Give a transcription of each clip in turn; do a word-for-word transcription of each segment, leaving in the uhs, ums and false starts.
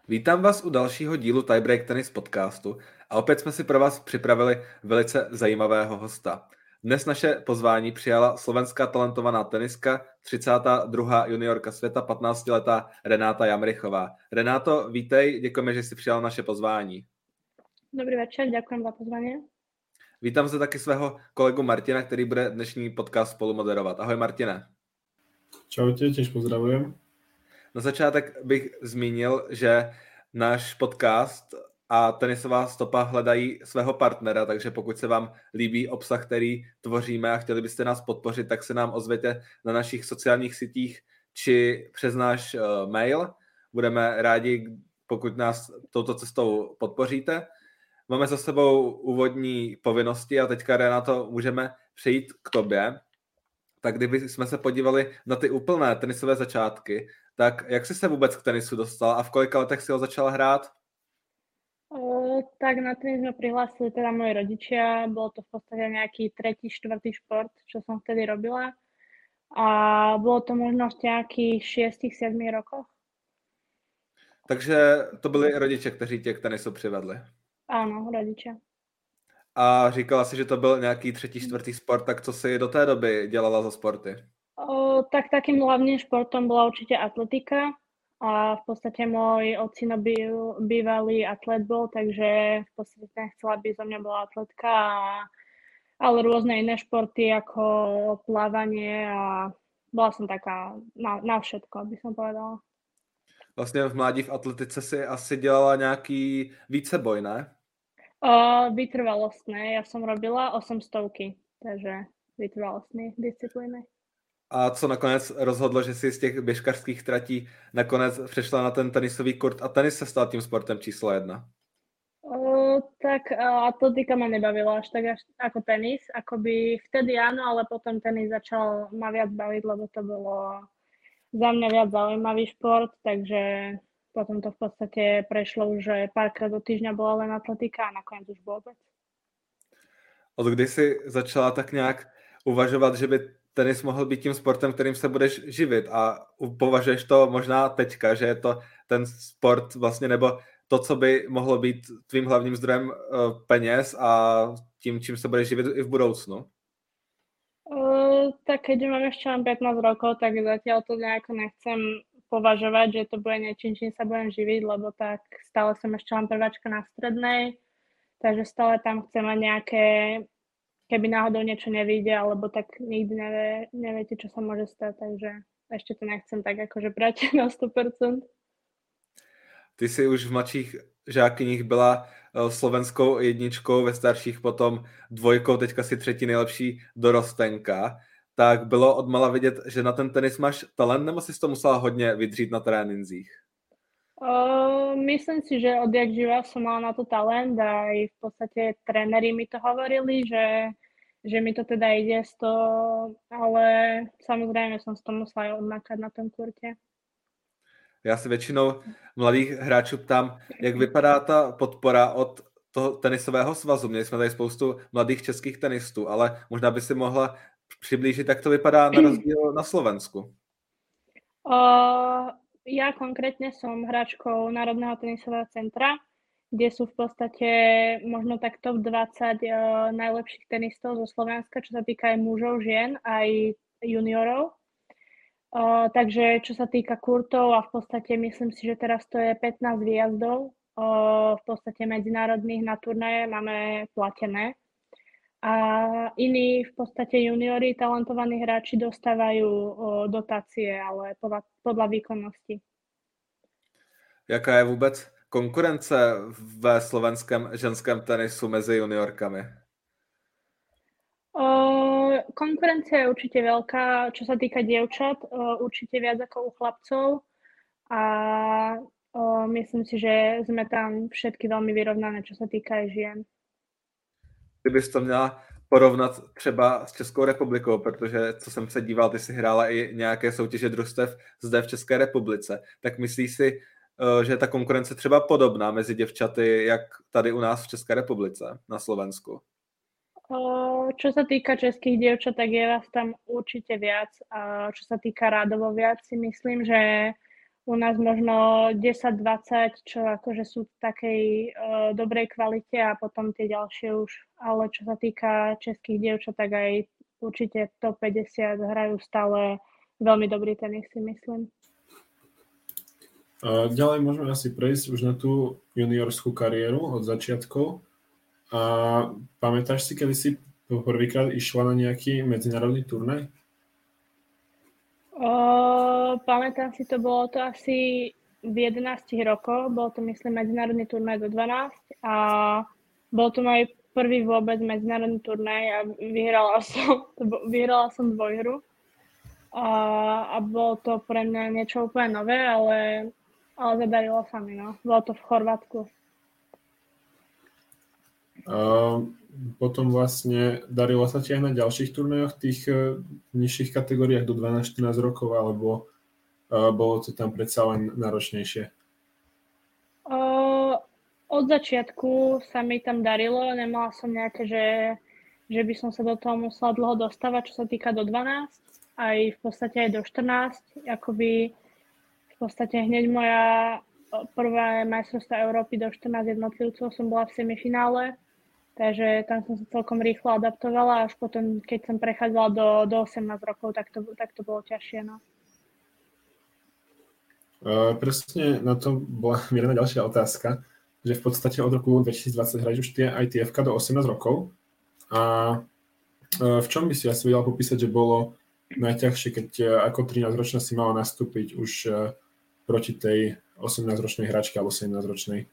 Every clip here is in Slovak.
Vítám vás u dalšího dílu Tiebreak Tennis podcastu a opět jsme si pro vás připravili velice zajímavého hosta. Dnes naše pozvání přijala slovenská talentovaná tenistka, třicátá druhá juniorka světa, patnáctiletá Renáta Jamrichová. Renáto, vítej, děkujeme, že jsi přijala naše pozvání. Dobrý večer, ďakujem za pozvanie. Vítám zde taky svého kolegu Martina, který bude dnešní podcast spolu moderovat. Ahoj Martine. Čaute, tiež pozdravujem. Na začátek bych zmínil, že náš podcast a tenisová stopa hledají svého partnera, takže pokud se vám líbí obsah, který tvoříme a chtěli byste nás podpořit, tak se nám ozvěte na našich sociálních sítích či přes náš uh, mail. Budeme rádi, pokud nás touto cestou podpoříte. Máme za sebou úvodní povinnosti a teďka, Renato, můžeme přejít k tobě. Tak kdyby jsme se podívali na ty úplné tenisové začátky, tak jak jsi se vůbec k tenisu dostal a v kolika letech si ho začal hrát? O, tak na tenis ma prihlásili teda moji rodičia, bolo to v podstate nejaký tretí, štvrtý šport, čo som vtedy robila a bolo to možno v nejakých šiestich, siedmich rokoch. Takže to byli rodiče, kteří tě k tenisu přivedli. Áno, rodičia. A říkala si, že to byl nějaký třetí, čtvrtý sport, tak co si do té doby dělala za sporty? O, tak takým hlavným športom bola určite atletika a v podstate môj ocino byl bývalý atlet bol, takže v podstate ten chcel, aby zo mňa bola atletka, a, ale rôzne iné športy ako plávanie a bola som taká na, na všetko, by som povedala. Vlastně v mládí v atletice si asi dělala nějaký víceboj, ne? Uh, vytrvalostné, ja som robila osemstovky, takže vytrvalostné disciplíny. A co nakonec rozhodlo, že si z těch běžkařských tratí nakonec přešla na ten tenisový kurt a tenis se stal tím sportem číslo jedna? Uh, tak uh, atletika ma nebavila až tak až, ako tenis, akoby vtedy áno, ale potom tenis začal ma viac baviť, lebo to bolo za mňa viac zaujímavý šport, takže potom to v podstate prešlo už, že párkrát do týždňa bola len atletika a nakoniec už vôbec. Od kdy jsi začala tak nějak uvažovat, že by tenis mohl být tím sportem, kterým se budeš živit a považuješ to možná teďka, že je to ten sport vlastně, nebo to, co by mohlo být tvým hlavním zdrojem peněz a tím, čím se budeš živit i v budoucnu? Uh, tak keďže mám ešte len pätnásť rokov, tak zatiaľ to nejako nechcem považovať, že to bude niečím, čím sa budem živiť, lebo tak stále som ešte len prváčka na strednej, takže stále tam chcem mať nejaké, keby náhodou niečo nevyjde, alebo tak nikdy nevie, neviete, čo sa môže stať, takže ešte to nechcem tak akože brať na sto percent. Ty jsi už v mladších žákyních byla slovenskou jedničkou, ve starších potom dvojkou, teďka si třetí nejlepší dorostenka. Tak bylo odmala vidět, že na ten tenis máš talent, nebo jsi to musela hodně vydřít na tréninzích? Uh, myslím si, že odjak živa som mala na to talent a aj v podstate tréneri mi to hovorili, že, že mi to teda ide z toho, ale samozrejme som si to musela aj odmakať na tom kurte. Já si většinou mladých hráčů ptám, jak vypadá ta podpora od toho tenisového svazu. Měli jsme tady spoustu mladých českých tenistů, ale možná by si mohla přiblížit, jak to vypadá na rozdíl na Slovensku. Uh, ja konkrétne som hráčkou Národného tenisového centra, kde sú v podstate možno tak top dvadsať uh, najlepších tenistov zo Slovenska, čo sa týka aj mužov, žien, aj juniorov. Uh, takže čo sa týka kurtov a v podstate myslím si, že teraz to je pätnásť výjazdov, uh, v podstate medzinárodných na turnaje máme platené. A iní v podstate juniori, talentovaní hráči dostávajú uh, dotácie, ale podľa, podľa výkonnosti. Jaká je vůbec konkurence ve slovenském ženském tenisu mezi juniorkami? Uh, konkurencia je určite veľká, čo sa týka dievčat, uh, určite viac ako u chlapcov a uh, myslím si, že sme tam všetky veľmi vyrovnané, čo sa týka aj žien. Kdybys to měla porovnat třeba s Českou republikou, protože co jsem se díval, ty si hrála i nějaké soutěže družstev zde v České republice, tak myslíš si, že je ta konkurence třeba podobná mezi děvčaty, jak tady u nás v České republice, na Slovensku? Čo sa týka českých dievčat, tak je vás tam určite viac. Čo sa týka rádovo viac, si myslím, že u nás možno desať dvadsať, čo akože sú v takej uh, dobrej kvalite a potom tie ďalšie už. Ale čo sa týka českých dievčat, tak aj určite top päťdesiat hrajú stále veľmi dobrý tenis, si myslím. Uh, ďalej môžeme asi prejsť už na tú juniorskú kariéru od začiatkov. A pamätáš si, kedy si prvýkrát išla na nejaký medzinárodný turnaj? O, pamätám si, to bolo to asi v jedenástich rokoch, bol to myslím medzinárodný turnaj do dvanásť a bol to môj prvý vôbec medzinárodný turnaj a vyhrala som, vyhrala som dvojhru a, a bolo to pre mňa niečo úplne nové, ale, ale zadarilo sa mi, no. Bolo to v Chorvátsku. Uh, potom vlastne darilo sa ti aj na ďalších turnajoch, tých uh, nižších kategóriách do dvanásť štrnásť rokov, alebo uh, bolo to tam predsa len náročnejšie? Uh, od začiatku sa mi tam darilo, nemala som nejaké, že, že by som sa do toho musela dlho dostávať, čo sa týka do dvanásť, aj v podstate aj do štrnásť, akoby v podstate hneď moja prvá majstrovstvá Európy do štrnásť jednotlivcov som bola v semifinále. Takže tam som sa celkom rýchlo adaptovala, až potom, keď som prechádzala do, do osemnásť rokov, tak to, tak to bolo ťažšie. No. Uh, presne na to bola mierená ďalšia otázka, že v podstate od roku dvetisícdvadsať hrajú už tie í té ef-ka do osemnásť rokov. A uh, v čom by si asi vedela popísať, že bolo najťažšie, keď uh, ako trinásťročná si mala nastúpiť už uh, proti tej osemnásťročnej hráčke alebo sedemnásťročnej?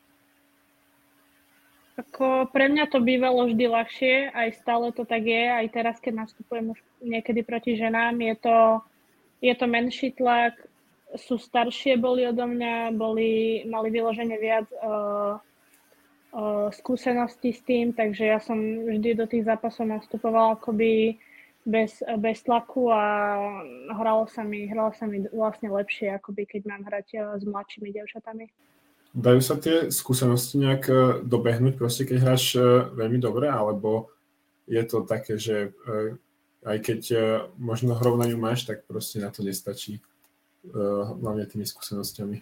Ako pre mňa to bývalo vždy ľahšie, aj stále to tak je, aj teraz, keď nastupujem už niekedy proti ženám, je to, je to menší tlak, sú staršie boli odo mňa, boli, mali vyložene viac uh, uh, skúseností s tým, takže ja som vždy do tých zápasov nastupovala akoby bez, bez tlaku a hralo sa mi, hralo sa mi vlastne lepšie, akoby keď mám hrať uh, s mladšími dievčatami. Dajú sa tie skúsenosti nejak dobehnúť, proste keď hráš veľmi dobre, alebo je to také, že aj keď možno hrou na ňu máš, tak proste na to nestačí, hlavne tými skúsenosťami?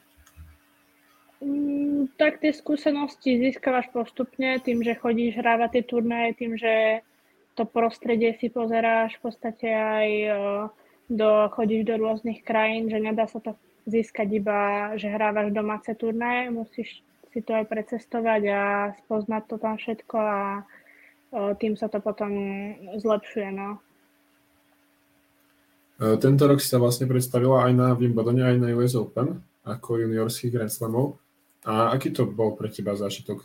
Mm, tak tie skúsenosti získavaš postupne tým, že chodíš hrávať tie turnaje, tým, že to prostredie si pozeráš v podstate aj do, chodíš do rôznych krajín, že nedá sa to získať iba, že hrávaš domáce turnaje, musíš si to aj precestovať a spoznať to tam všetko a tým sa to potom zlepšuje. No. Tento rok si sa vlastne predstavila aj na Wimbledone, aj na ú es Open ako juniorských Grand Slamov. A aký to bol pre teba zážitok?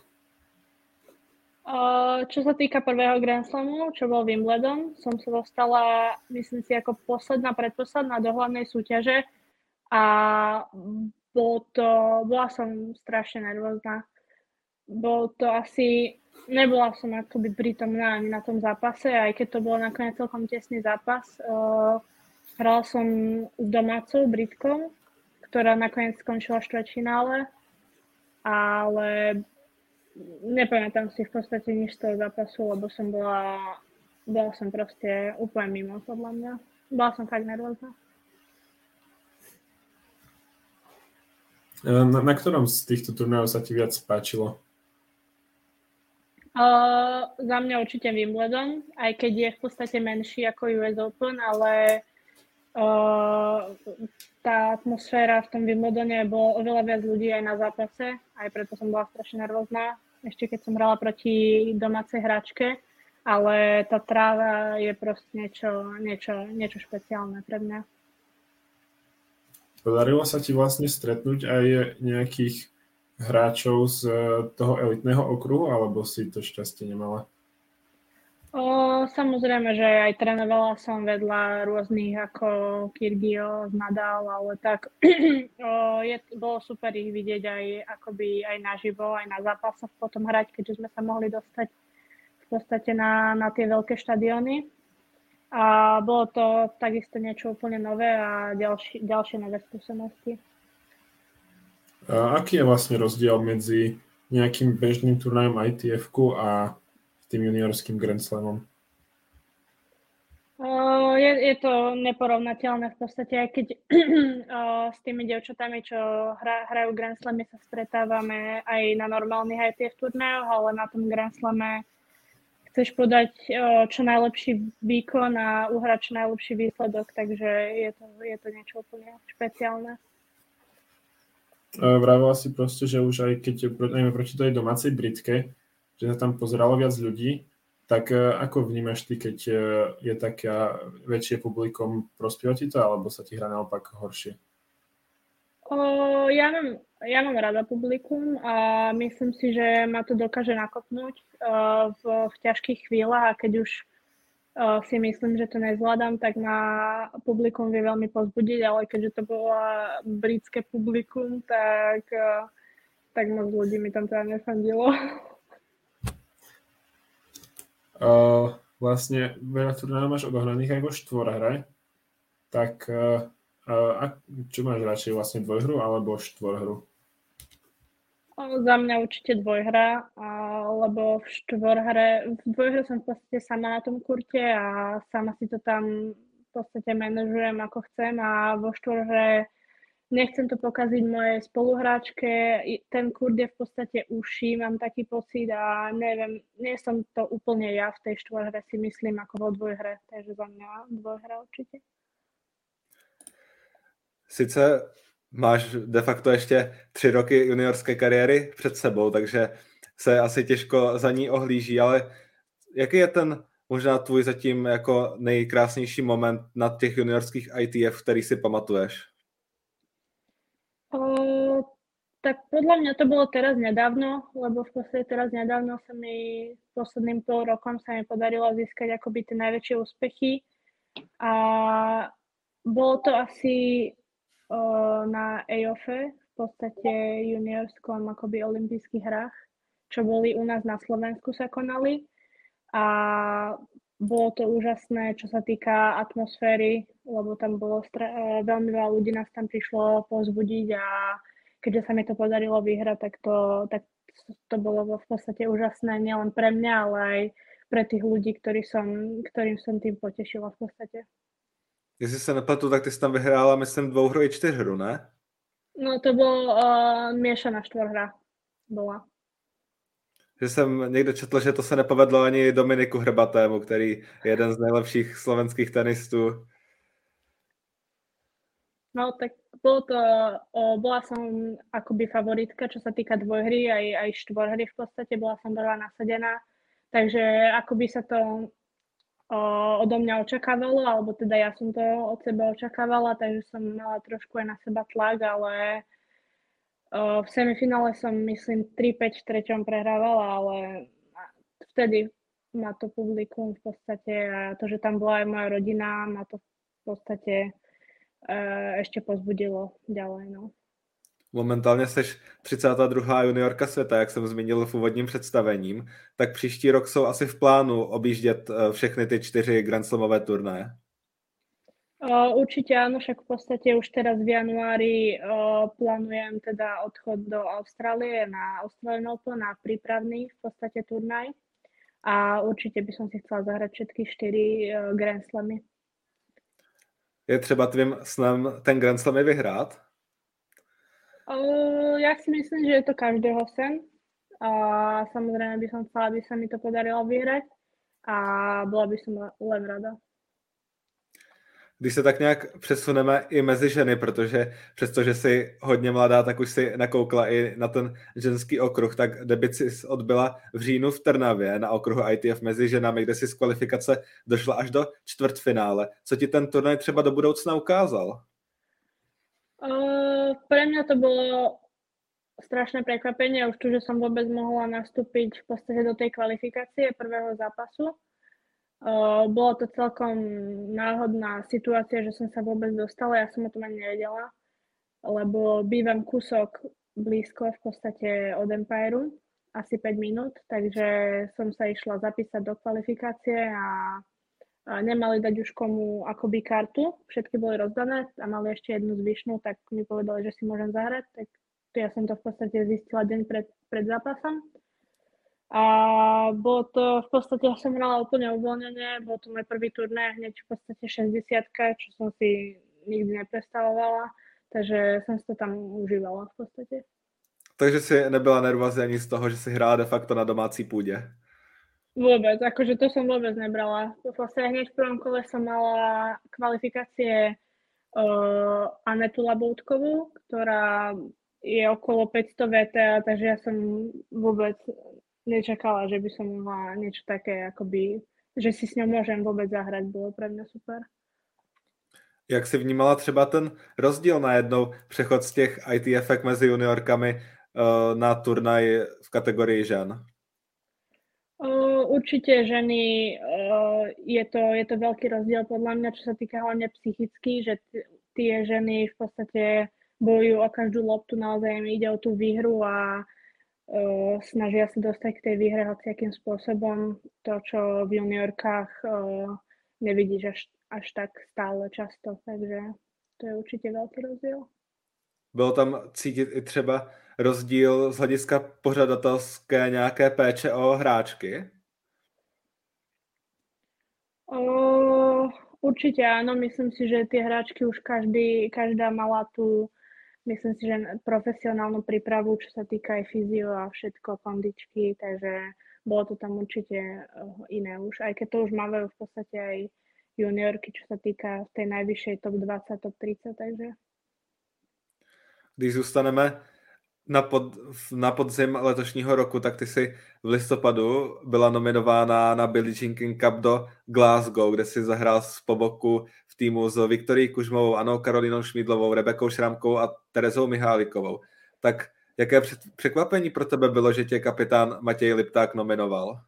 Čo sa týka prvého Grand Slamu, čo bol Wimbledon, som sa dostala, myslím si, ako posledná, predposledná do hlavnej súťaže. A bol to, bola som strašne nervózna. Bol to asi, nebola som akoby prítomná ani na tom zápase, aj keď to bolo nakoniec celkom tesný zápas. Uh, hrala som s domácou Britkou, ktorá nakoniec skončila v štvrťfinále, ale nepamätám si v podstate nič z toho zápasu, lebo som bola, bola som proste úplne mimo, podľa mňa. Bola som fakt nervózna. Na, na ktorom z týchto turnajov sa ti viac páčilo? Uh, za mňa určite Wimbledon, aj keď je v podstate menší ako ú es Open, ale uh, tá atmosféra v tom Wimbledone bolo oveľa viac ľudí aj na zápase, aj preto som bola strašne nervózna, ešte keď som hrala proti domácej hráčke, ale tá tráva je proste niečo, niečo, niečo špeciálne pre mňa. Podarilo sa ti vlastne stretnúť aj nejakých hráčov z toho elitného okruhu, alebo si to šťastie nemala? O, samozrejme, že aj trénovala som vedľa rôznych ako Kyrgios, Nadal, ale tak o, je, bolo super ich vidieť aj akoby aj naživo, aj na zápasoch potom hrať, keďže sme sa mohli dostať v podstate na, na tie veľké štadióny. A bolo to takisto niečo úplne nové a ďalší, ďalšie nové skúsenosti. A aký je vlastne rozdiel medzi nejakým bežným turnajom í té ef-ku a tým juniorským Grand Slamom? Uh, je, je to neporovnateľné v podstate, aj keď uh, s tými dievčatami, čo hra, hrajú Grand Slamy, sa stretávame aj na normálnych í té ef turnajoch, ale na tom Grand Slame chceš podať uh, čo najlepší výkon a uhrať čo najlepší výsledok, takže je to, je to niečo úplne špeciálne. Uh, vravila si proste, že už aj keď najmä proti tej domácej Britke, že sa tam pozeralo viac ľudí, tak ako vnímaš ty, keď je také väčšie publikum, prospieva ti to, alebo sa ti hrá naopak horšie? O, ja, mám, ja mám rada publikum a myslím si, že ma to dokáže nakopnúť uh, v, v ťažkých chvíľach a keď už uh, si myslím, že to nezvládam, tak ma publikum vie veľmi pozbudiť, ale keďže to bolo britské publikum, tak, uh, tak moc ľudí mi tam teda nefandilo. Uh, vlastne veľa turnajov máš odohraných aj vo štvorhre, tak uh, uh, čo máš radšej, vlastne dvojhru alebo štvorhru? O, za mňa určite dvojhra, a, lebo v štvorhre, v dvojhre som v podstate sama na tom kurte a sama si to tam v podstate manažujem ako chcem a vo štvorhre nechcem to pokaziť mojej spoluhráčke, ten kurd je v podstate uší, mám taký pocit a neviem, nie som to úplne ja v tej štvorhre, si myslím, ako vo dvojhre, takže za mňa dvojhra určite. Sice máš de facto ještě tři roky juniorské kariéry před sebou, takže se asi těžko za ní ohlíží, ale jaký je ten možná tvůj zatím jako nejkrásnější moment na těch juniorských í té ef, který si pamatuješ? O, tak podľa mňa to bolo teraz nedávno, lebo v podstate teraz nedávno sa mi posledným pol rokom sa mi podarilo získať akoby tie najväčšie úspechy a bolo to asi o, na é ó ef, v podstate juniorskom akoby olympijských hrách, čo boli u nás na Slovensku sa konali a bolo to úžasné, čo sa týka atmosféry, lebo tam bolo stra- veľmi veľa ľudí nás tam prišlo povzbudiť a keďže sa mi to podarilo vyhrať, tak to, tak to bolo v podstate úžasné nielen pre mňa, ale aj pre tých ľudí, ktorí som, ktorým som tým potešila v podstate. Jestli se nepletu, tak ty jsi tam vyhrála, myslím, dvouhru i čtyřhru, ne? No to bol uh, miešaná štvorhra bola. Že jsem někde četl, že to se nepovedlo ani Dominiku Hrbatému, který je jeden z nejlepších slovenských tenistů. No tak bolo to, o, bola som akoby favoritka, čo sa týka dvojhry, aj, aj štvorhry v podstate, bola som veľa nasadená, takže akoby sa to o, odo mňa očakávalo, alebo teda ja som to od seba očakávala, takže som mala trošku aj na seba tlak, ale o, v semifinále som myslím tri päť v treťom prehrávala, ale vtedy ma to publikum v podstate a to, že tam bola aj moja rodina, ma to v podstate ešte pozbudilo ďalej. No. Momentálně jsi třicátá druhá juniorka světa, jak jsem zmínil v úvodním představením, tak příští rok jsou asi v plánu objíždět všechny ty čtyři Grand Slamové turnaje. Určite áno, však v podstate už teraz v januári uh, plánujem teda odchod do Austrálie na Australian Open, na prípravný v podstate turnaj a určite by som si chcela zahrať všetky štyri uh, Grand Slamy. Je třeba tvým snem ten Grand Slam vyhrát? Uh, ja si myslím, že je to každého sen a samozrejme by som chcela, aby sa mi to podarilo vyhrať a bola by som len rada. Když se tak nějak přesuneme i mezi ženy, protože přestože jsi hodně mladá, tak už si nakoukla i na ten ženský okruh, tak debut si odbyla v říjnu v Trnavě na okruhu í té ef mezi ženami, kde si z kvalifikace došla až do čtvrtfinále. Co ti ten turnaj třeba do budoucna ukázal? Uh, pre mňa to bolo strašné prekvapenie, už tu, že som vôbec mohla nastúpiť v podstate do tej kvalifikácie prvého zápasu. Uh, bola to celkom náhodná situácia, že som sa vôbec dostala, ja som o tom ani nevedela, lebo bývam kúsok blízko v podstate od Empireu, asi päť minút, takže som sa išla zapísať do kvalifikácie a, a nemali dať už komu akoby kartu, všetky boli rozdané a mali ešte jednu zvyšnú, tak mi povedali, že si môžem zahrať, tak ja som to v podstate zistila deň pred, pred zápasom. A bolo to, v podstate ja som hrala úplne uvoľnenie, bol to môj prvý turnaj, hneď v podstate šesťdesiatka, čo som si nikdy neprestavovala, takže som si to tam užívala v podstate. Takže si nebyla nervózní ani z toho, že si hrála de facto na domácí půdě? Vôbec, akože to som vôbec nebrala. Vlastne hneď v prvom kole som mala kvalifikácie uh, Anetu Laboutkovú, ktorá je okolo päťsto vé té á, takže ja som vôbec nečakala, že by som mohla niečo také, akoby, že si s ňou môžem vôbec zahrať, bolo pre mňa super. Jak jsi vnímala třeba ten rozdíl najednou přechod z těch í té ef mezi juniorkami uh, na turnaj v kategorii žen? Uh, určite ženy, uh, je, to, je to veľký rozdiel podľa mňa, čo sa týka hlavne psychicky, že t- tie ženy v podstate bojujú o každú loptu, naozaj im ide o tú výhru a uh, snažia sa dostať k tej výhre hociakým spôsobom. To, čo v juniorkách uh, nevidíš až, až tak stále často, takže to je určite veľký rozdiel. Bylo tam cítit i třeba rozdíl z hlediska pořadatelské nějaké péče o hráčky? O, určite áno, myslím si, že tie hráčky už každý, každá mala tú, myslím si, že profesionálnu prípravu, čo sa týka aj fyzio a všetko, kondičky, takže bolo to tam určite iné už, aj keď to už mávajú v podstate aj juniorky, čo sa týka tej najvyššej top dvadsať, top tridsať, takže. Když zůstaneme na, pod, na podzim letošního roku, tak ty si v listopadu byla nominována na Billie Jean King Cup do Glasgow, kde si zahrál z po boku v týmu s Viktorií Kužmovou, Anou Karolínou Šmídlovou, Rebekou Šramkou a Terezou Mihálikovou. Tak jaké překvapení pro tebe bylo, že tě kapitán Matěj Lipták nominoval?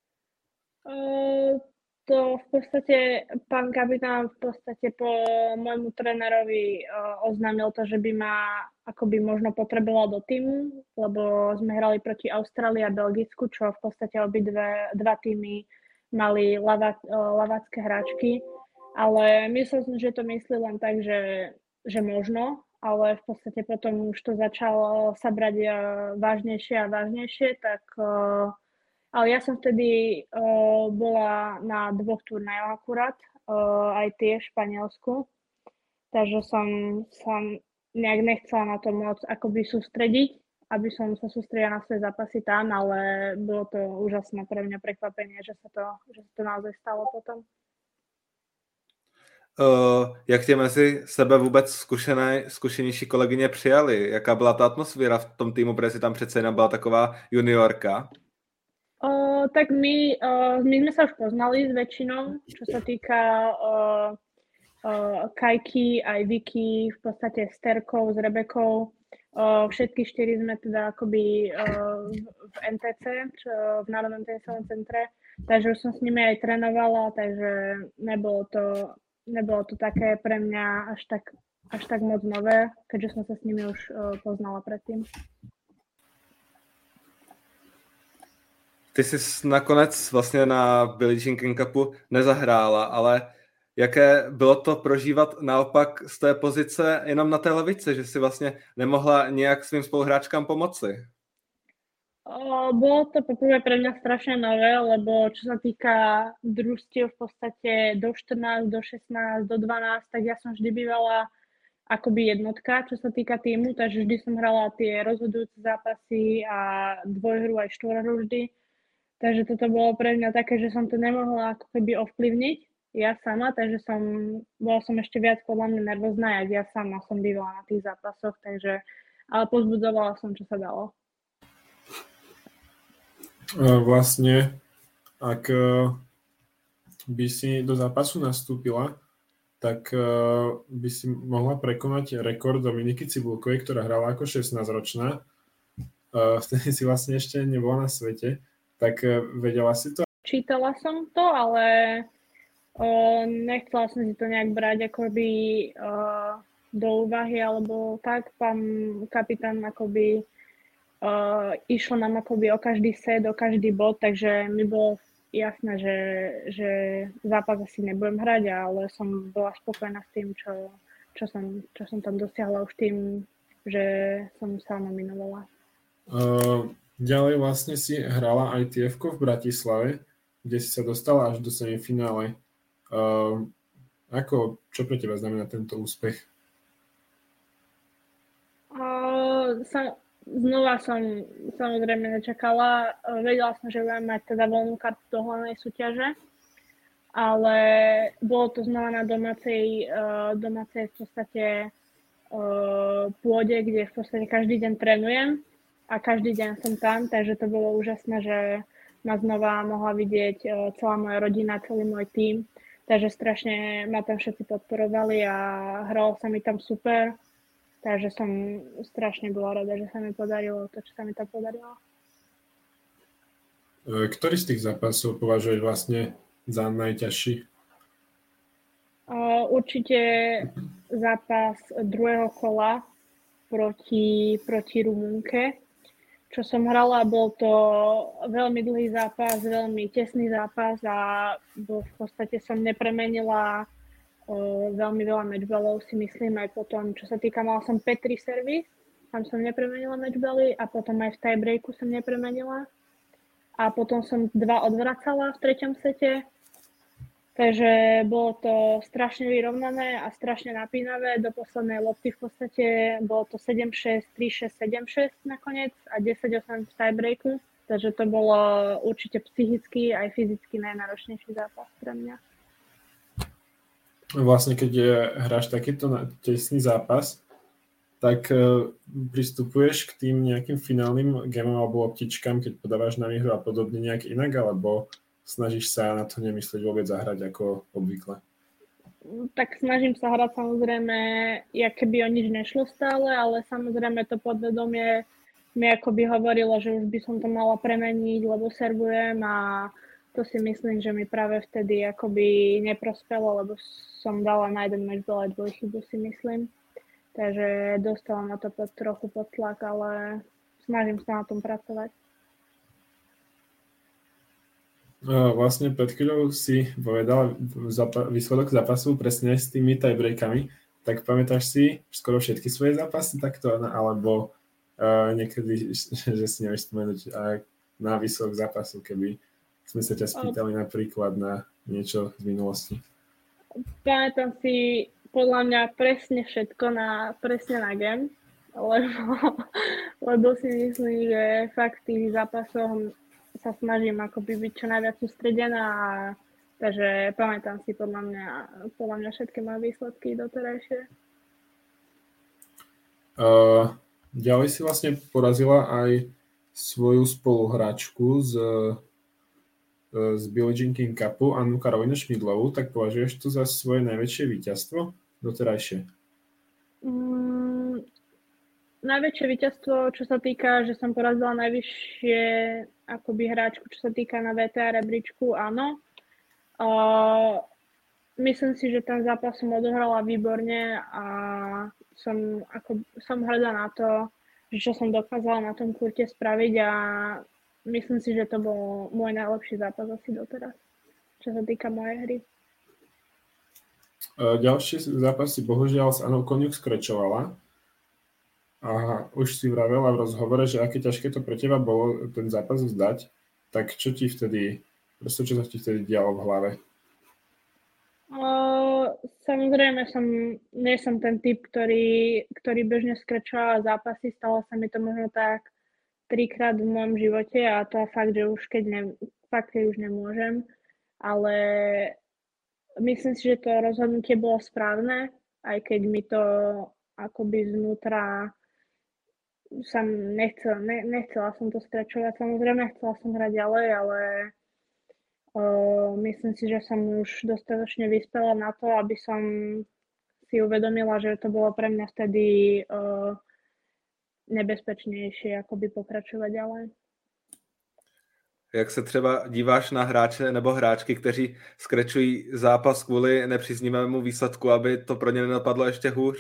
Uh... To v podstate pán kapitán v podstate po môjmu trénerovi uh, oznámil to, že by ma akoby možno potreboval do týmu, lebo sme hrali proti Austrálii a Belgicku, čo v podstate obidve dva týmy mali lava, uh, lavácké hráčky, ale myslel som, že to myslí len tak, že, že možno, ale v podstate potom už to začalo sa brať uh, vážnejšie a vážnejšie, tak uh, ale ja som vtedy uh, bola na dvoch turnajoch akurát, uh, aj tie v Španielsku, takže som sa nejak nechcela na to moc akoby sústrediť, aby som sa sústredila na svoje zápasy tam, ale bolo to úžasné pre mňa prekvapenie, že sa to, že sa to naozaj stalo potom. Uh, jak tě mezi sebe vůbec zkušené, zkušenější kolegyně přijali? Jaká byla ta atmosféra v tom týmu, protože si tam přece jenom byla taková juniorka? Uh, tak my, uh, my sme sa už poznali s väčšinou, čo sa týka uh, uh, Kajky, aj Vicky, v podstate s Terkou, s Rebekou. Uh, všetky štyri sme teda akoby uh, v en té cé, čo, v Národnom tenisovom centre, takže už som s nimi aj trénovala, takže nebolo to, nebolo to také pre mňa až tak, až tak moc nové, keďže som sa s nimi už uh, poznala predtým. Ty jsi nakonec vlastně na Billie Jean King Cupu nezahrála, ale jaké bylo to prožívat naopak z té pozice jenom na té lavici, že si vlastně nemohla nějak svým spoluhráčkám pomoci? O, bolo to poprvé pre mňa strašne nové, lebo čo sa týka družstiev v podstate do štrnásť, do šestnásť, do dvanásť, tak ja som vždy bývala akoby jednotka, čo sa týka týmu, takže vždy som hrala tie rozhodujúce zápasy a dvojhru aj štvorhru vždy. Takže toto bolo pre mňa také, že som to nemohla ako keby ovplyvniť ja sama, takže som, bola som ešte viac podľa mňa nervózna, jak ja sama som bývala na tých zápasoch, takže, ale pozbudzovala som, čo sa dalo. Vlastne, ak by si do zápasu nastúpila, tak by si mohla prekonať rekord Dominiky Cibulkovej, ktorá hrala ako šestnásťročná. Vtedy si vlastne ešte nebola na svete. Tak vedela si to? Čítala som to, ale o, nechcela som si to nejak brať akoby o, do úvahy, alebo tak. Pán kapitán akoby o, išlo nám akoby o každý set, o každý bod, takže mi bolo jasné, že, že zápas asi nebudem hrať, ale som bola spokojná s tým, čo, čo, som, čo som tam dosiahla už tým, že som sa nominovala. Uh... Ďalej vlastne si hrala í té ef-ko v Bratislave, kde si sa dostala až do semifinále. Uh, ako, čo pre teba znamená tento úspech? Uh, sa, znova som samozrejme nečakala. Uh, vedela som, že budem mať teda voľnú kartu do hlavnej súťaže, ale bolo to znova na domácej, uh, domácej v podstate uh, pôde, kde v podstate každý deň trénujem a každý deň som tam, takže to bolo úžasné, že ma znova mohla vidieť uh, celá moja rodina, celý môj tím, takže strašne ma tam všetci podporovali a hralo sa mi tam super, takže som strašne bola rada, že sa mi podarilo to, čo sa mi tam podarilo. Ktorý z tých zápasov považuješ vlastne za najťažší? Uh, určite zápas druhého kola proti, proti Rumunke, čo som hrala. Bol to veľmi dlhý zápas, veľmi tesný zápas a v podstate som nepremenila uh, veľmi veľa matchballov, si myslím, aj potom, čo sa týka, mala som päť tri servis, tam som nepremenila matchbally a potom aj v tiebreaku som nepremenila. A potom som dva odvracala v treťom sete. Takže bolo to strašne vyrovnané a strašne napínavé. Do poslednej lopty v podstate bolo to sedem šesť, tri šesť, sedem šesť nakoniec a desať osem v tiebreaku. Takže to bolo určite psychicky aj fyzicky najnáročnejší zápas pre mňa. Vlastne keď je, hráš takýto tesný zápas, tak uh, pristupuješ k tým nejakým finálnym gamom alebo loptičkám, keď podávaš na výhru a podobne nejak inak, alebo snažíš sa na to nemyslieť vôbec zahrať ako obvykle? Tak snažím sa hrať samozrejme, jak keby o nič nešlo stále, ale samozrejme to podvedomie mi akoby hovorilo, že už by som to mala premeniť, lebo servujem a to si myslím, že mi práve vtedy akoby neprospelo, lebo som dala na jeden matchball aj dvojchybu, si myslím. Takže dostala na to pod, trochu pod tlak, ale snažím sa na tom pracovať. Vlastne pred chvíľou si povedal zapa- výsledok zápasu presne s tými tiebreakami. Tak pamätáš si skoro všetky svoje zápasy takto, alebo uh, niekedy, že si nevieš spomenúť uh, na výsledok zápasu, keby sme sa ťa spýtali napríklad na niečo z minulosti? Pamätám si podľa mňa presne všetko na, presne na game, lebo, lebo si myslím, že fakt v tých zápasoch sa snažím akoby byť čo najviac sústredená, takže pamätám si podľa mňa, podľa mňa všetky moje výsledky doterajšie. Uh, ďalej si vlastne porazila aj svoju spoluhráčku z, z Billie Jean King Cupu, Annu Karolínu Šmídlovú, tak považuješ to za svoje najväčšie víťazstvo doterajšie? Mm, najväčšie víťazstvo, čo sa týka, že som porazila najvyššie akoby hráčku, čo sa týka na vé té á rebríčku, áno. Uh, myslím si, že ten zápas som odohrala výborne a som, ako, som hrdá na to, že čo som dokázala na tom kurte spraviť a myslím si, že to bol môj najlepší zápas asi doteraz, čo sa týka mojej hry. Ďalší zápas si bohužiaľ s Anou Koniuk skrečovala a už si vravela v rozhovore, že aké ťažké to pre teba bolo ten zápas vzdať, tak čo ti vtedy, proste čo sa ti vtedy dialo v hlave? Uh, samozrejme som, nie som ten typ, ktorý, ktorý bežne skrečoval zápasy, stalo sa mi to možno tak trikrát v môjom živote a to je fakt, že už keď, ne, fakt, keď už nemôžem, ale myslím si, že to rozhodnutie bolo správne, aj keď mi to akoby znútra som nechcela, ne, nechcela som to skrečovať, samozrejme chcela som hrať ďalej, ale uh, myslím si, že som už dostatočne vyspela na to, aby som si uvedomila, že to bolo pre mňa vtedy uh, nebezpečnější jakoby pokračovat ďalej. Jak se třeba díváš na hráče nebo hráčky, kteří skrečují zápas kvůli nepříznivému výsledku, aby to pro ně nenapadlo ještě hůř?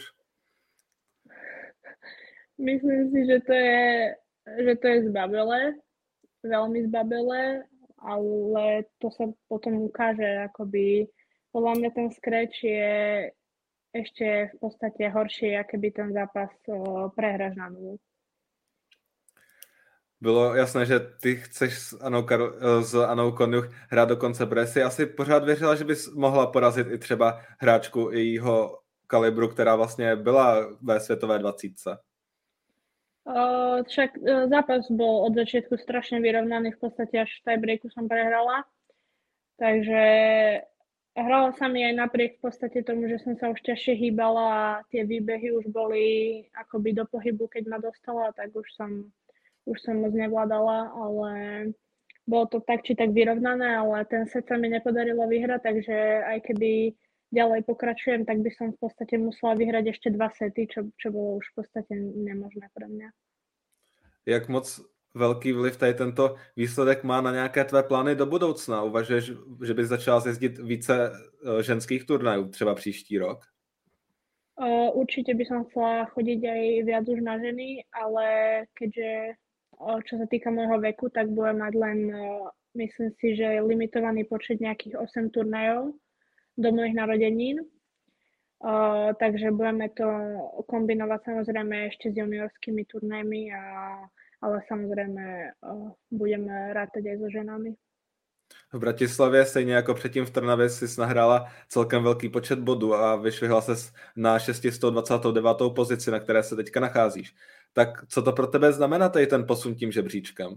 Myslím si, že to je, že to je zbabelé, veľmi zbabelé, ale to sa potom ukáže, akoby podľa mňa ten skreč je ešte v podstate horšie, aké by ten zápas o, prehráš na nulu. Bylo jasné, že ty chceš s Anou, Kar- s Anou Konjuch hrát do konce, protože jsi asi pořád věřila, že bys mohla porazit i třeba hráčku jejího kalibru, která vlastně byla ve světové dvacítce. Uh, však uh, zápas bol od začiatku strašne vyrovnaný, v podstate až v tiebreaku som prehrala. Takže hrala sa mi aj napriek v podstate tomu, že som sa už ťažšie hýbala a tie výbehy už boli akoby do pohybu, keď ma dostala, tak už som, už som moc nevládala, ale bolo to tak či tak vyrovnané, ale ten set sa mi nepodarilo vyhrať, takže aj keby ďalej pokračujem, tak by som v podstate musela vyhrať ešte dva sety, čo, čo bolo už v podstate nemožné pre mňa. Jak moc velký vliv tady tento výsledek má na nějaké tvé plány do budoucna? Uvažuješ, že bys začala jezdit více ženských turnajů, třeba příští rok? Uh, určite by som chcela chodiť aj viac už na ženy, ale keďže uh, čo sa týka môjho veku, tak budem mať len, uh, myslím si, že limitovaný počet nejakých osem turnajov do mojich narodenín. Uh, takže budeme to kombinovať samozrejme ešte s juniorskými turnajmi, a, ale samozrejme uh, budeme rátať aj so ženami. V Bratislavě, stejně jako předtím v Trnavě, jsi nahrála celkem velký počet bodů a vyšvihla ses na šest set dvacet devět pozici, na které se teďka nacházíš. Tak co to pro tebe znamená tady ten posun tím žebříčkem?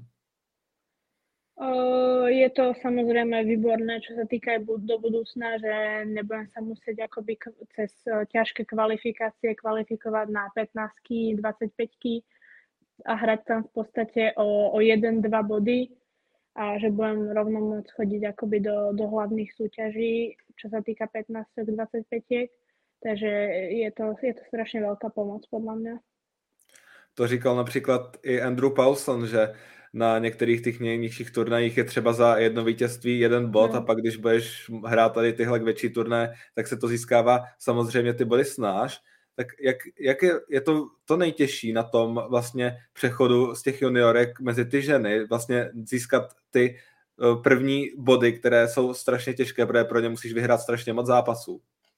Uh, je to samozrejme výborné, čo sa týka aj do budúcna, že nebudem sa musieť akoby cez ťažké kvalifikácie kvalifikovať na pätnástky, dvadsaťpäťky a hrať tam v podstate o, o jeden dva body a že budem rovno môcť chodiť akoby do, do hlavných súťaží, čo sa týka pätnásť dvadsaťpäť. Takže je to, je to strašne veľká pomoc podľa mňa. To říkal například i Andrew Paulson, že na některých těch nejnižších turnajích je třeba za jedno vítězství jeden bod no. A pak když budeš hrát tady tyhle větší turnaje, tak se to získává samozřejmě ty body snáš. Tak jak, jak je, je to, to nejtěžší na tom vlastně přechodu z těch juniorek mezi ty ženy, vlastně získat ty první body, které jsou strašně těžké, protože pro ně musíš vyhrát strašně moc zápasů?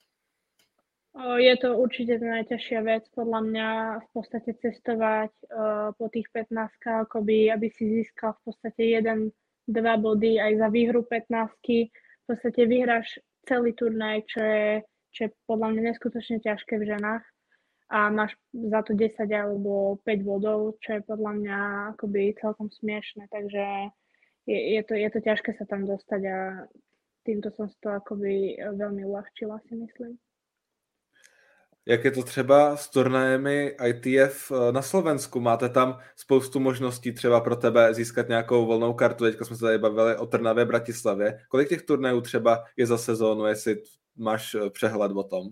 Je to určite najťažšia vec, podľa mňa v podstate cestovať uh, po tých pätnástkach, akoby, aby si získal v podstate jeden dva body aj za výhru pätnástky. V podstate vyhráš celý turnaj, čo je, čo je podľa mňa neskutočne ťažké v ženách a máš za to desať alebo päť bodov, čo je podľa mňa akoby celkom smiešné, takže je, je, to, je to ťažké sa tam dostať a týmto som si to akoby veľmi uľahčila, si myslím. Jak je to třeba s turnajemi I T F na Slovensku? Máte tam spoustu možností třeba pro tebe získat nějakou volnou kartu? Teďka jsme se tady bavili o Trnavě, Bratislavě. Kolik těch turnajů třeba je za sezónu, jestli máš přehled o tom?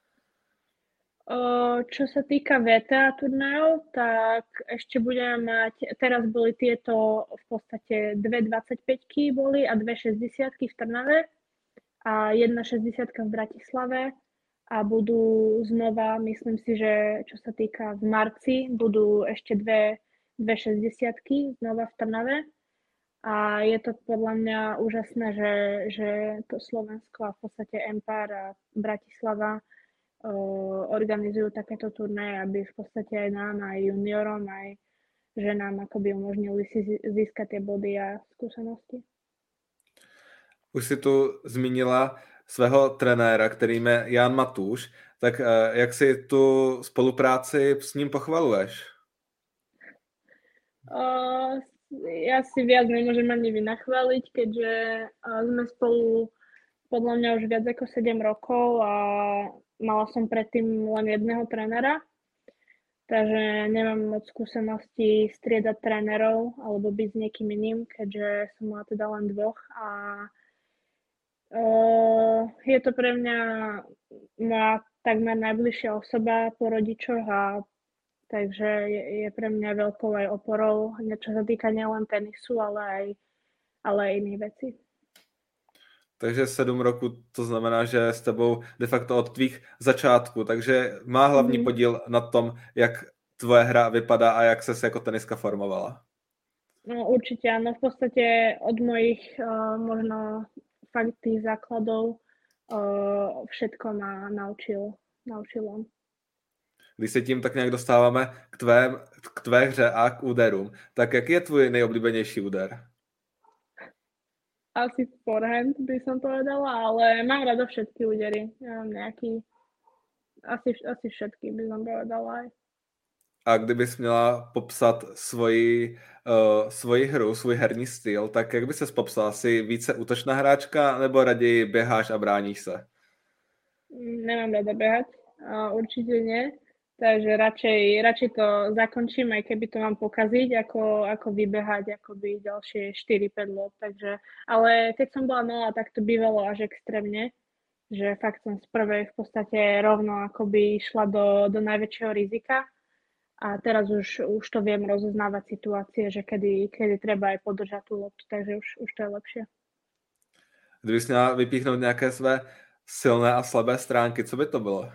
Čo sa týka V T A turnajov, tak ešte budeme mať, teraz boli tieto v podstate dve dvadsaťpäťky boli a dve šesťdesiatky v Trnave a jedna šesťdesiatka v Bratislave. A budú znova, myslím si, že čo sa týka v marci, budú ešte dve, dve šesťdesiatky znova v Trnave. A je to podľa mňa úžasné, že, že to Slovensko a v podstate Empire a Bratislava uh, organizujú takéto turnaje, aby v podstate aj nám, aj juniorom, aj ženám akoby umožnili si získať tie body a skúsenosti. Už si tu zmínila svého trenéra, kterým je Jan Matúš, tak jak si tu spolupráci s ním pochvaluješ? Uh, ja si viac nemôžem ani vynachváliť, keďže uh, sme spolu podľa mňa už viac ako sedem rokov a mala som predtým len jedného trénera, takže nemám moc skúseností striedať trénerov alebo byť s niekým iným, keďže som mala teda len dvoch a Uh, je to pre mňa moja takmer najbližšia osoba po rodičoch a takže je, je pre mňa veľkou aj oporou, čo sa týka nielen tenisu, ale aj, ale aj iných vecí. Takže sedm roků, to znamená, že s tebou de facto od tvých začátků, takže má hlavní mm. podíl na tom, jak tvoje hra vypadá a jak ses jako teniska formovala. No určite áno, v podstate od mojich uh, možno fakt tých základov uh, všetko ma naučil, naučil on. Když se tím tak nějak dostáváme k, tvém, k tvé hře a k úderům, tak jaký je tvůj nejoblíbenější úder? Asi forehand by som povedala, ale mám rada všetky údery. Ja mám nejaký, asi, asi všetky by som povedala aj. A kdybys měla popsat svoji, uh, svoji hru, svůj herní styl, tak jak by ses popsala? Jsi více útočná hráčka nebo raději běháš a bráníš se? Nemám rada behať, uh, určite nie. Takže radšej, radšej to zakončím, aj keby to mám pokaziť, ako, ako vybehať akoby ďalšie štyri päť lôb. Takže, ale keď som bola malá, tak to bývalo až extrémne, že fakt som z prvej v podstate rovno akoby išla do, do najväčšieho rizika. A teraz už, už to viem rozoznávať situácie, že kedy, kedy treba aj podržať tú loptu, takže už, už to je lepšie. Kdybys měla vypíchnout nějaké své silné a slabé stránky, co by to bylo?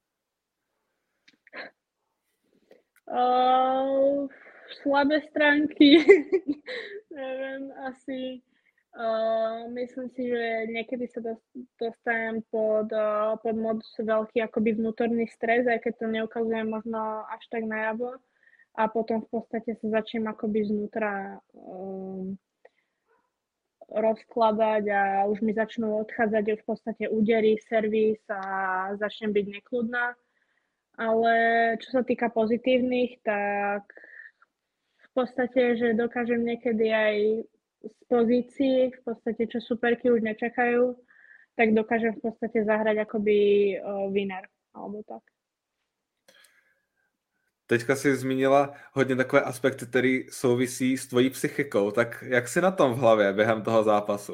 Uh, slabé stránky, neviem, asi uh, myslím si, že niekedy sa dostanem pod, uh, pod moc veľký akoby vnútorný stres, aj keď to neukazujem možno až tak najavo a potom v podstate sa začnem akoby znútra um, rozkladať a už mi začnú odchádzať v podstate údery, servis a začnem byť nekľudná. Ale čo sa týka pozitívnych, tak v podstate, že dokážem niekedy aj z pozícií, v podstate čo superky už nečakajú, tak dokážem v podstate zahrať akoby uh, winner, alebo tak. Teďka jsi zmínila hodně takové aspekty, které souvisí s tvojí psychikou. Tak jak jsi na tom v hlavě během toho zápasu?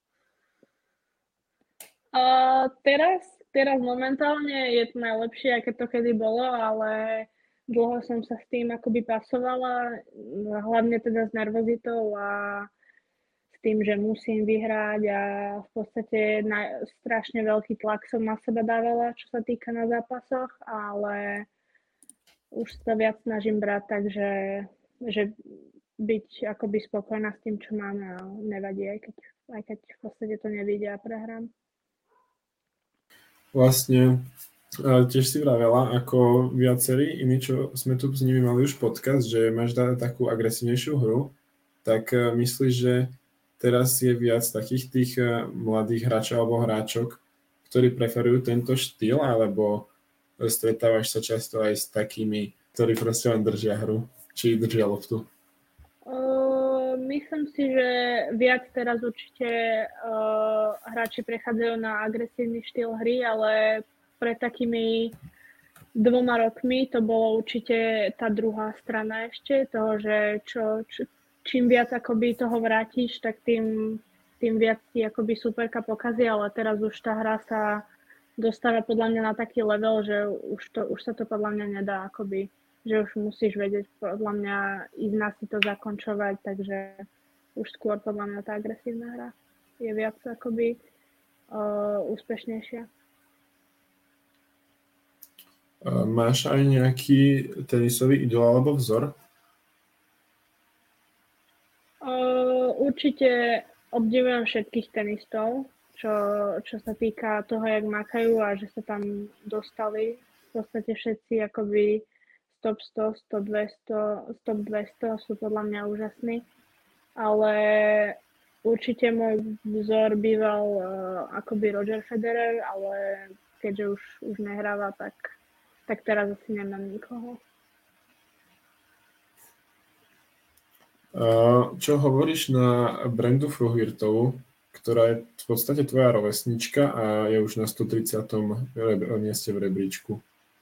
Uh, teraz, teraz momentálne je to najlepšie, aké to kedy bolo, ale dlho som sa s tým akoby pasovala, hlavne teda s nervozitou a s tým, že musím vyhrať a v podstate na, strašne veľký tlak som na seba dávala, čo sa týka na zápasoch, ale už sa viac snažím brať, takže že byť akoby spokojná s tým, čo máme a nevadí, aj keď, aj keď v podstate to nevyjde a prehrám. Vlastne tiež si vravela, ako viacerí iní, čo sme tu s nimi mali už podcast, že máš dať takú agresívnejšiu hru, tak myslíš, že teraz je viac takých tých mladých hráčov alebo hráčok, ktorí preferujú tento štýl, alebo stretávaš sa často aj s takými, ktorí proste len držia hru, či držia loptu? Uh, myslím si, že viac teraz určite uh, hráči prechádzajú na agresívny štýl hry, ale pred takými dvoma rokmi to bolo určite tá druhá strana ešte, toho, že čo, čo, čím viac akoby toho vrátiš, tak tým, tým viac ti akoby superka pokazí, ale teraz už tá hra sa dostáva podľa mňa na taký level, že už, to, už sa to podľa mňa nedá akoby, že už musíš vedieť podľa mňa ísť na si to zakončovať, takže už skôr podľa mňa tá agresívna hra je viac akoby uh, úspešnejšia. Máš aj nejaký tenisový idol alebo vzor? Uh, určite obdivujem všetkých tenistov, čo, čo sa týka toho, jak makajú a že sa tam dostali v podstate všetci akoby top sto, top dvesto, top dvesto sú podľa mňa úžasní, ale určite môj vzor býval uh, akoby Roger Federer, ale keďže už, už nehráva, tak, tak teraz asi nemám nikoho. Uh, čo hovoríš na Brandu Fruhvirtovu, ktorá je v podstate tvoja rovesnička a je už na stotridsiatom mieste v rebríčku?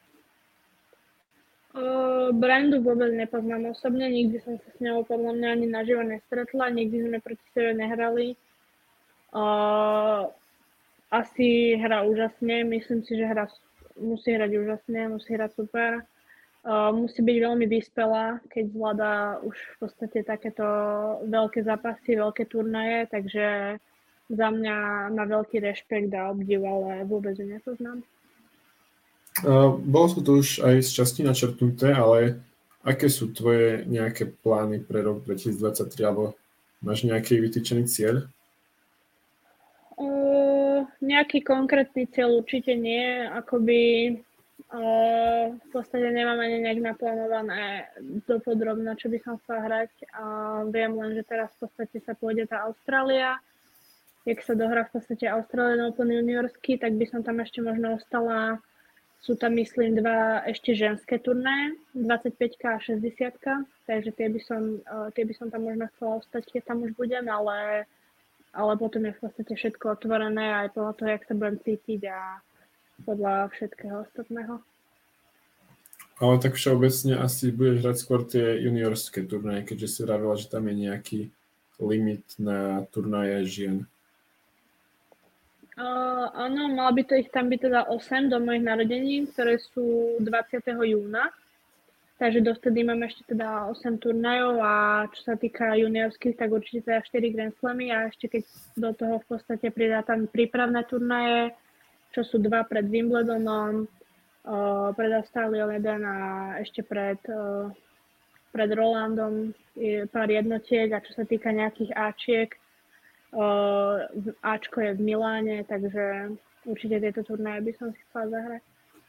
Uh, Brandu vôbec nepoznám osobne, nikdy som sa s ňou podľa mňa ani naživo nestretla, nikdy sme proti sebe nehrali. Uh, asi hra úžasne, myslím si, že hra musí hrať úžasne, musí hrať super. Uh, musí byť veľmi vyspelá, keď zvláda už v podstate takéto veľké zápasy, veľké turnaje, takže za mňa má veľký rešpekt a obdiv, ale vôbec ju nepoznám. Uh, bolo to tu už aj z časti načrtnuté, ale aké sú tvoje nejaké plány pre rok dvetisícdvadsaťtri, alebo máš nejaký vytýčený cieľ? Uh, nejaký konkrétny cieľ určite nie, akoby Uh, v podstate nemám ani nejak naplánované dopodrobne, čo by som chcela hrať. Uh, viem len, že teraz v podstate sa pôjde tá Austrália. Jak sa dohrá v podstate Australian Open juniorsky, tak by som tam ešte možno ostala. Sú tam, myslím, dva ešte ženské turnaje, dvadsaťpäťka a šesťdesiatka, takže tie by som, uh, tie by som tam možno chcela ostať, keď tam už budem, ale, ale potom je v podstate všetko otvorené aj podľa toho, jak sa budem cítiť a podľa všetkého ostatného. Ale tak všeobecne asi budeš hrať skôr tie juniorské turnaje, keďže si vravila, že tam je nejaký limit na turnaje žien. Uh, áno, mal by to ich tam byť teda osem do mojich narodení, ktoré sú dvadsiateho júna. Takže dovtedy mám ešte teda osem turnajov a čo sa týka juniorských, tak určite teda štyri Grand Slamy a ešte keď do toho v podstate pridá tam prípravné turnaje, čo sú dva pred Wimbledonom, uh, pred Australiou jeden a ešte pred, uh, pred Rolandom je pár jednotiek a čo sa týka nejakých áčiek, uh, áčko je v Miláne, takže určite tieto turnaje by som si chcela zahrať.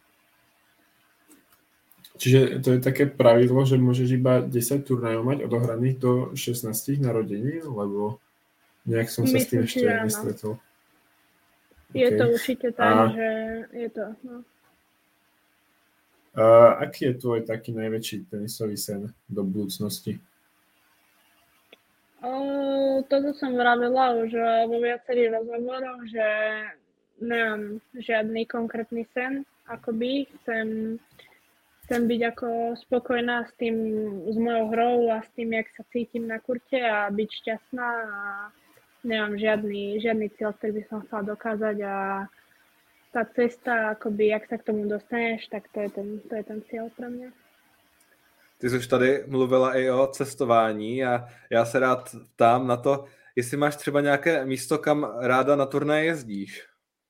Čiže to je také pravidlo, že môžeš iba desať turnajov mať odohraných do šestnástich narodení, lebo nejak som sa Myslím, s tým ešte nestretol. Je okay. To určite tak, a... že je to, no. Uh, aký je tvoj taký najväčší tenisový sen do budúcnosti? Uh, toto som vravila už vo viacerých rozhovoroch, že nemám žiadny konkrétny sen, akoby chcem, chcem byť ako spokojná s tým, s mojou hrou a s tým, jak sa cítim na kurte a byť šťastná a nemám žiadny, žiadny cieľ, ktorý by som chcela dokázať a tá cesta, akoby, jak sa k tomu dostaneš, tak to je ten, to je ten cieľ pro mě. Ty jsi už tady mluvila i o cestování a já se rád ptám na to, jestli máš třeba nějaké místo, kam ráda na turnaje jezdíš?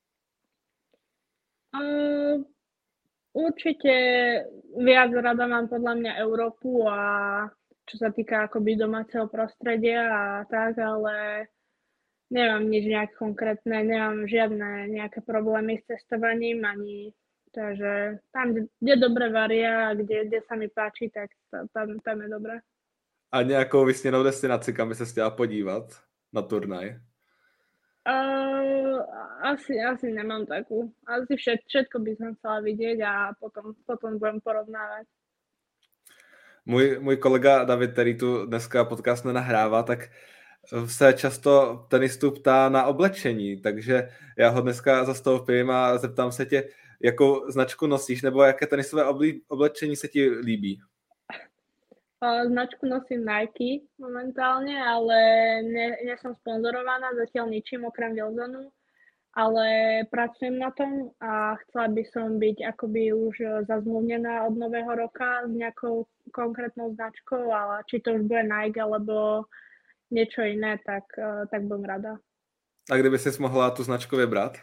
Uh, určite viac rada mám podľa mňa Európu a čo sa týka akoby domáceho prostredia a tak, ale nemám nič nejak konkrétne, nemám žiadne nejaké problémy s cestovaním ani, takže tam, kde dobre varia a kde, kde sa mi páči, tak tam, tam je dobré. A nějakou vysněnou destinaci, kam by se chtěla podívat na turnaj? Uh, asi, asi nemám takú. Asi všet, všetko by som chcela vidieť a potom, potom budem porovnávať. Můj, můj kolega David, který tu dneska podcast nenahrává, tak se často tenistů ptá na oblečení, takže já ho dneska zastoupím a zeptám se tě, jakou značku nosíš, nebo jaké tenisové oblečení se ti líbí? Značku nosím Nike momentálne, ale nie, nie som sponzorovaná zatiaľ ničím okrem Wilsonu, ale pracujem na tom a chcela by som byť akoby už zazmluvnená od nového roka s nejakou konkrétnou značkou, ale či to už bude Nike alebo niečo iné, tak, tak budem rada. A kdyby si mohla tu značku vybrat?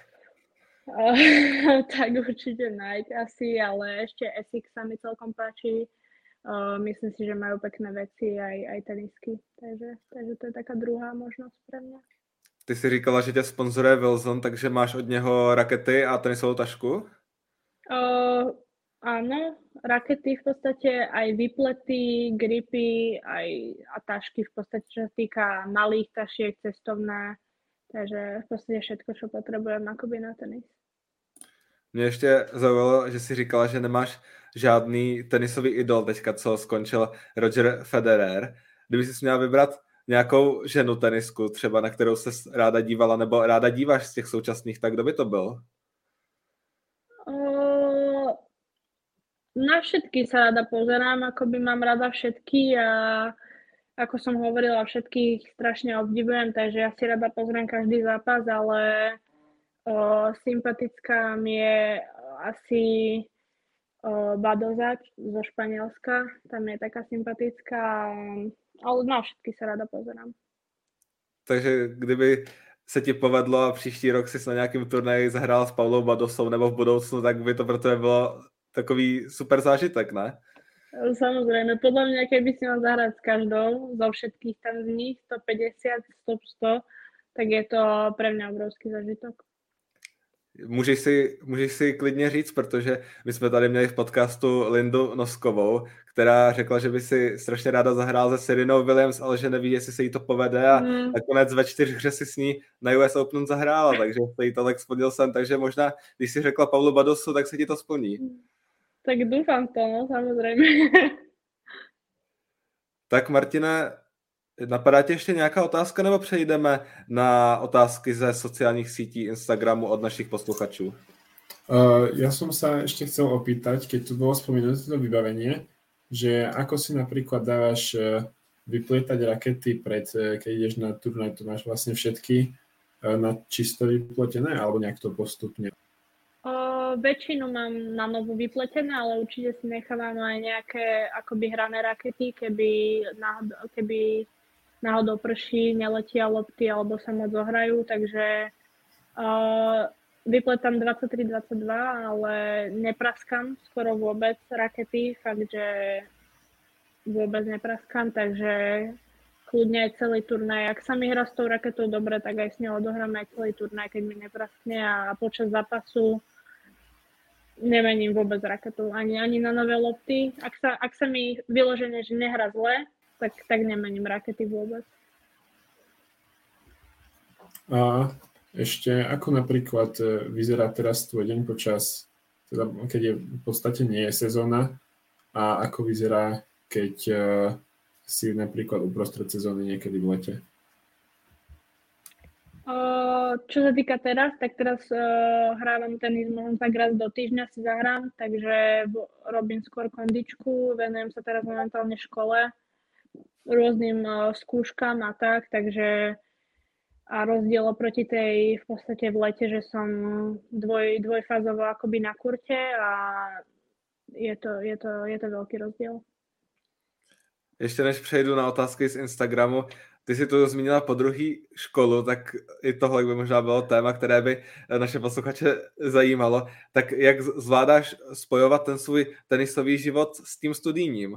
Tak určite Nike asi, ale ešte Essex sa mi celkom páči. Uh, myslím si, že majú pekné veci aj, aj tenisky, takže, takže to je taká druhá možnosť pre mňa. Ty si říkala, že tě sponzoruje Wilson, takže máš od něho rakety a tenisovou tašku? Uh, áno, rakety v podstate, aj výplety, gripy, aj a tašky v podstate, čo sa týka malých tašiek, cestovné, takže v podstate všetko, čo potrebujem akoby na tenis. Mě ještě zaujalo, že jsi říkala, že nemáš žádný tenisový idol teďka, co skončil Roger Federer. Kdyby jsi měla vybrat nějakou ženu tenisku, třeba na kterou se ráda dívala, nebo ráda díváš z těch současných, tak kdo by to byl? Uh, na všetky sa rada pozerám, akoby mám rada všetky a ako som hovorila, všetkých strašne obdivujem, takže ja si rada pozriem každý zápas, ale uh, sympatická mi je asi Badoza zo Španielska, tam je taká sympatická, ale na všetky sa rada pozerám. Takže kdyby se ti povedlo a příští rok si na nějakém turnaji zahrál s Paulou Badosou nebo v budoucnu, tak by to pro tebe bylo takový super zážitek, ne? Samozrejme, podľa mňa, keby si mal zahrať s každou, zo všetkých tam z nich, stopäťdesiat, sto, sto, tak je to pre mňa obrovský zážitok. Můžeš si, můžeš si klidně říct, protože my jsme tady měli v podcastu Lindu Noskovou, která řekla, že by si strašně ráda zahrál se Serenou Williams, ale že neví, jestli se jí to povede a mm. nakonec ve čtyřhře si s ní na U S Open zahrála, takže se jí to tak splnil sen, takže možná, když si řekla Pavlu Badosu, tak se ti to splní. Tak doufám to, no, samozřejmě. Tak Martine, napadá tě ještě nějaká otázka, nebo přejdeme na otázky ze sociálních sítí Instagramu od našich posluchačů? Uh, ja som sa ešte chcel opýtať, keď tu bolo spomenuté to vybavenie, že ako si napríklad dávaš uh, vyplietať rakety pred, uh, keď ideš na turnaj, to máš vlastne všetky uh, na čisto vypletené, alebo nejak to postupne? Uh, väčšinu mám na novo vypletené, ale určite si nechávam aj nejaké akoby hrané rakety, keby náhodou, keby náhodou prší, neletia lopty alebo sa moc zohrajú, takže uh, vypletám dvadsaťtri dvadsaťdva, ale nepraskám skoro vôbec rakety, fakt, že vôbec nepraskám, takže kľudne aj celý turnaj. Ak sa mi hrá s tou raketou dobre, tak aj s ňou odohrám aj celý turnaj, keď mi nepraskne a počas zápasu nemením vôbec raketu, ani, ani na nové lopty. Ak sa, ak sa mi vyložene, že nehrá zle, tak, tak nemením rakety vôbec. A ešte ako napríklad vyzerá teraz tvoj deň počas, teda keď je v podstate nie je sezóna, a ako vyzerá, keď uh, si napríklad uprostred sezóny niekedy v lete? Uh, čo sa týka teraz, tak teraz uh, hrávam tenis možno tak raz do týždňa si zahrám, takže robím skôr kondičku, venujem sa teraz momentálne škole, rôznym uh, skúškam a tak, takže a rozdiel oproti tej v podstate v lete, že som dvoj, dvojfázovo akoby na kurte a je to, je to, je to veľký rozdiel. Ještě než přejdu na otázky z Instagramu, ty si tu zmínila po druhý školu, tak i tohle by možná bylo téma, které by naše posluchače zajímalo. Tak jak zvládáš spojovat ten svůj tenisový život s tím studijním?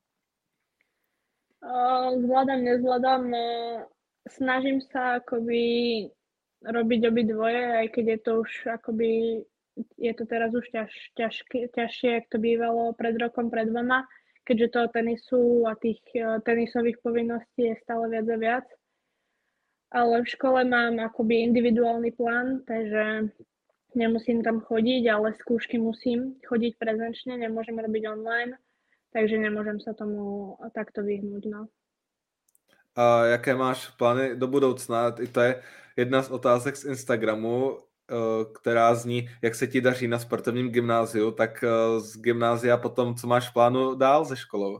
Zvládam, nezvládam. Snažím sa akoby robiť obidvoje, aj keď je to už akoby, je to teraz už ťaž, ťažké, ťažšie, jak to bývalo pred rokom, pred dvoma, keďže toho tenisu a tých tenisových povinností je stále viac a viac. Ale v škole mám akoby individuálny plán, takže nemusím tam chodiť, ale skúšky musím chodiť prezenčne, nemôžem robiť online, takže nemôžem sa tomu takto vyhnúť, no. A jaké máš plány do budoucna? I to je jedna z otázek z Instagramu, která zní, jak se ti daří na sportovním gymnáziu, tak z gymnázia potom, co máš v plánu dál se školou?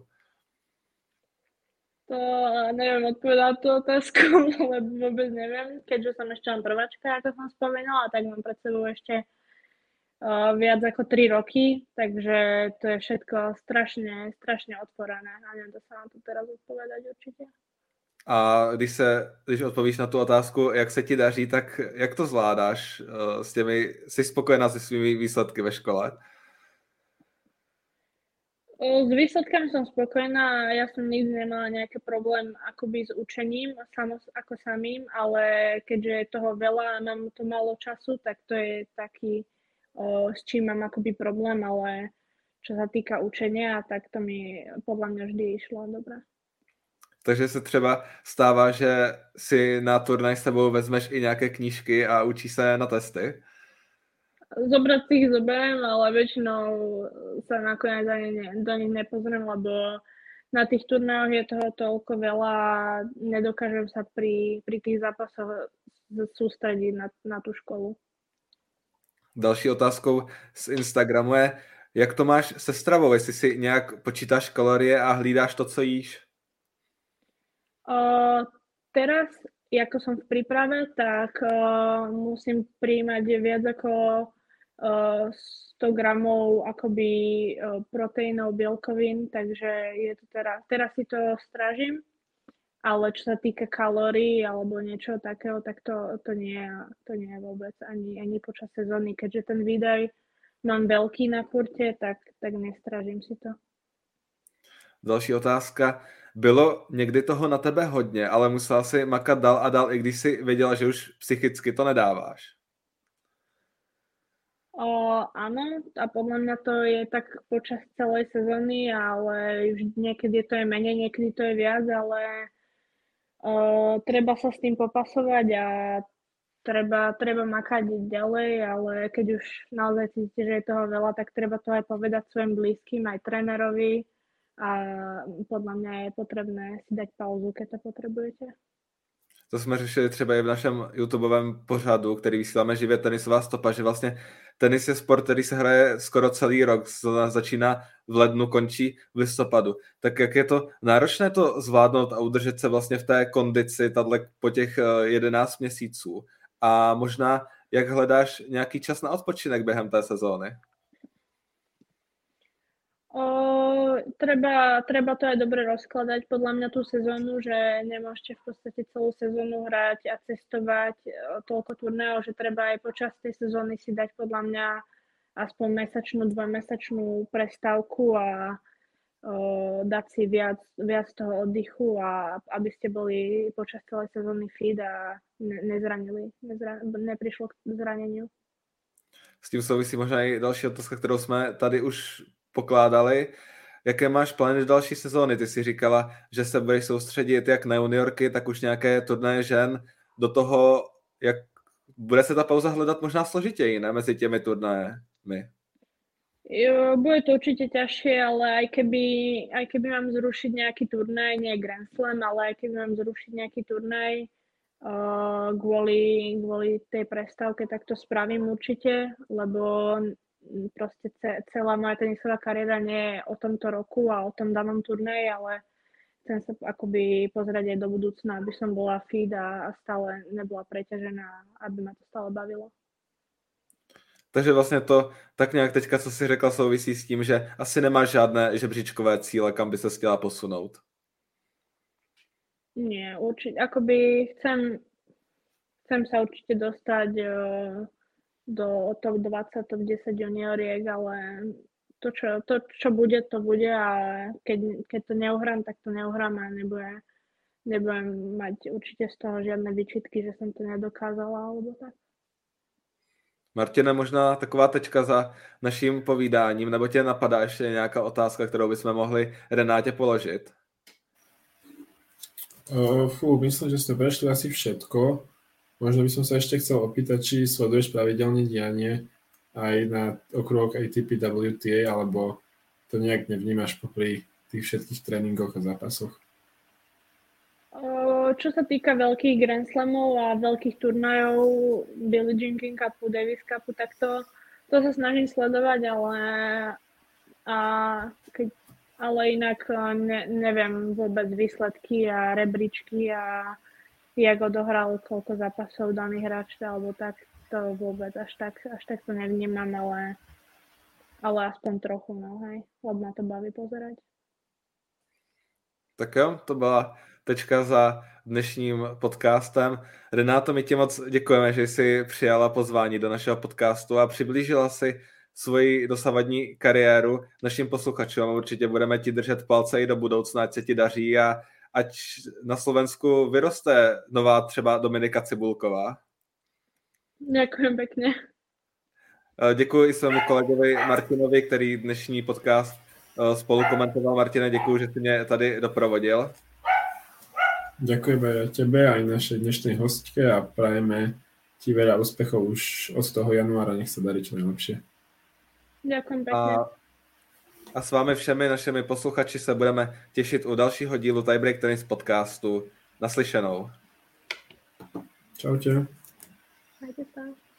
To neviem odpovedať tú otázku, lebo vôbec neviem, keďže som ešte len prváčka, ako som spomínala, tak mám pred sebou ešte uh, viac ako tri roky, takže to je všetko strašne, strašne otvorené a neviem to sa vám tu teraz odpovedať určite. A když se, když odpovíš na tu otázku, jak se ti daří, tak jak to zvládáš uh, s těmi, jsi spokojená se svými výsledky ve škole? S výsledkami som spokojná, ja som nikdy nemala nejaký problém akoby s učením samo, ako samým, ale keďže je toho veľa a mám to málo času, tak to je taký, o, s čím mám akoby problém, ale čo sa týka učenia, tak to mi podľa mňa vždy išlo dobre. Takže se třeba stává, že si na turnaj s sebou vezmeš i nějaké knížky a učíš se na testy? Zobrať si ich zoberiem, ale väčšinou sa nakoniec ani ne, do nich nepozriem, lebo na tých turnajoch je toho toľko veľa a nedokážem sa pri, pri tých zápasoch sústrediť na, na tú školu. Další otázkou z Instagramu je, jak to máš se stravou, jestli si nějak počítáš kalorie a hlídáš to, co jíš? Uh, teraz, ako som v príprave, tak uh, musím prijímať viac ako uh, sto gramov akoby uh, proteínov, bielkovín, takže je to teraz, teraz si to strážim, ale čo sa týka kalórií alebo niečo takého, tak to, to, nie, to nie je vôbec ani, ani počas sezóny, keďže ten výdaj mám veľký na kurte, tak, tak nestrážim si to. Další otázka. Bylo někdy toho na tebe hodně, ale musela si makat dál a dál, i když si věděla, že už psychicky to nedáváš? O, áno, a podľa mňa to je tak počas celej sezóny, ale už niekedy to je menej, niekedy to je viac, ale o, treba sa s tým popasovať a treba, treba makať ďalej, ale keď už naozaj cítite, že je toho veľa, tak treba to aj povedať svojim blízkym, aj trénerovi a podľa mňa je potrebné si dať pauzu, keď to potrebujete. To jsme řešili třeba i v našem YouTubeovém pořadu, který vysíláme živě, Tenisová stopa, že vlastně tenis je sport, který se hraje skoro celý rok, začíná v lednu, končí v listopadu. Tak jak je to náročné to zvládnout a udržet se vlastně v té kondici tato po těch jedenáct měsíců? A možná, jak hledáš nějaký čas na odpočinek během té sezóny? O, treba, treba to aj dobre rozkladať podľa mňa tú sezónu, že nemôžete v podstate celú sezónu hrať a cestovať toľko turnajov, že treba aj počas tej sezóny si dať podľa mňa aspoň mesačnú, dvojmesačnú prestávku a o, dať si viac, viac toho oddychu a aby ste boli počas celej sezóny fit a ne, nezranili, nezra, neprišlo k zraneniu. S tím souvisí možná i další otázka, kterou jsme tady už pokládali. Jaké máš plány do další sezóny? Ty jsi říkala, že se budeš soustředit jak na juniorky, tak už nějaké turnaje žen. Do toho, jak bude se ta pauza hledat možná složitěji, ne? Mezi těmi turnajemi. Jo, bude to určite ťažšie, ale aj keby, aj keby mám zrušiť nejaký turnaj, nie Grand Slam, ale aj keby mám zrušiť nejaký turnaj uh, kvôli, kvôli tej prestávke, tak to spravím určite, lebo proste celá moja tenisová kariéra nie je o tomto roku a o tom danom turnaji, ale chcem sa akoby pozrieť aj do budúcna, aby som bola fit a stále nebola preťažená, aby ma to stále bavilo. Takže vlastně to tak nějak teďka, co jsi řekla, souvisí s tím, že asi nemáš žádné žebříčkové cíle, kam by se chtěla posunout. Nie, určite, akoby chcem, chcem sa určite dostať uh, do top dvadsať, top desať junioriek, ale to čo, to, čo bude, to bude a keď, keď to neuhrám, tak to neuhrám a nebude, nebudem mať určite z toho žiadne výčitky, že som to nedokázala alebo tak. Martine, možná taková tečka za naším povídáním, nebo tě napadá ještě nějaká otázka, kterou bychom mohli Renátě položit? Uh, fú, myslím, že sme prešli asi všetko. Možno by som sa ešte chcel opýtať, či sleduješ pravidelne dianie aj na okruhoch á té pé W T A, alebo to nejak nevnímaš popri tých všetkých tréningoch a zápasoch? Čo sa týka veľkých Grand Slamov a veľkých turnajov, Billie Jean King Cupu, Davis Cupu, tak to, to sa snažím sledovať, ale, a keď, ale inak ne, neviem vôbec výsledky a rebríčky a jak odohral, koľko zápasov daný hráč, alebo tak, to vôbec až tak, až tak to nevnímam, ale, ale aspoň trochu, no hej, lebo ma to baví pozerať. Tak jo, to byla tečka za dnešním podcastem. Renáto, my ti moc děkujeme, že jsi přijala pozvání do našeho podcastu a přiblížila si svoji dosavadní kariéru našim posluchačům. Určitě budeme ti držet palce i do budoucna, ať se ti daří a ať na Slovensku vyroste nová třeba Dominika Cibulková. Ďakujem pekne. Děkuji i svému kolegovi Martinovi, který dnešní podcast spolu komentoval. Martine, děkuji, že jsi mě tady doprovodil. Ďakujeme aj tebe, aj našej dnešnej hostke a prajeme ti veľa úspechov už od toho januára. Nech sa darí čo najlepšie. Ďakujem pekne. A, a s vámi všemi našimi posluchači se budeme těšit u dalšího dílu Tiebreak Tennis podcastu. Naslyšenou. Čaute. Majte sa.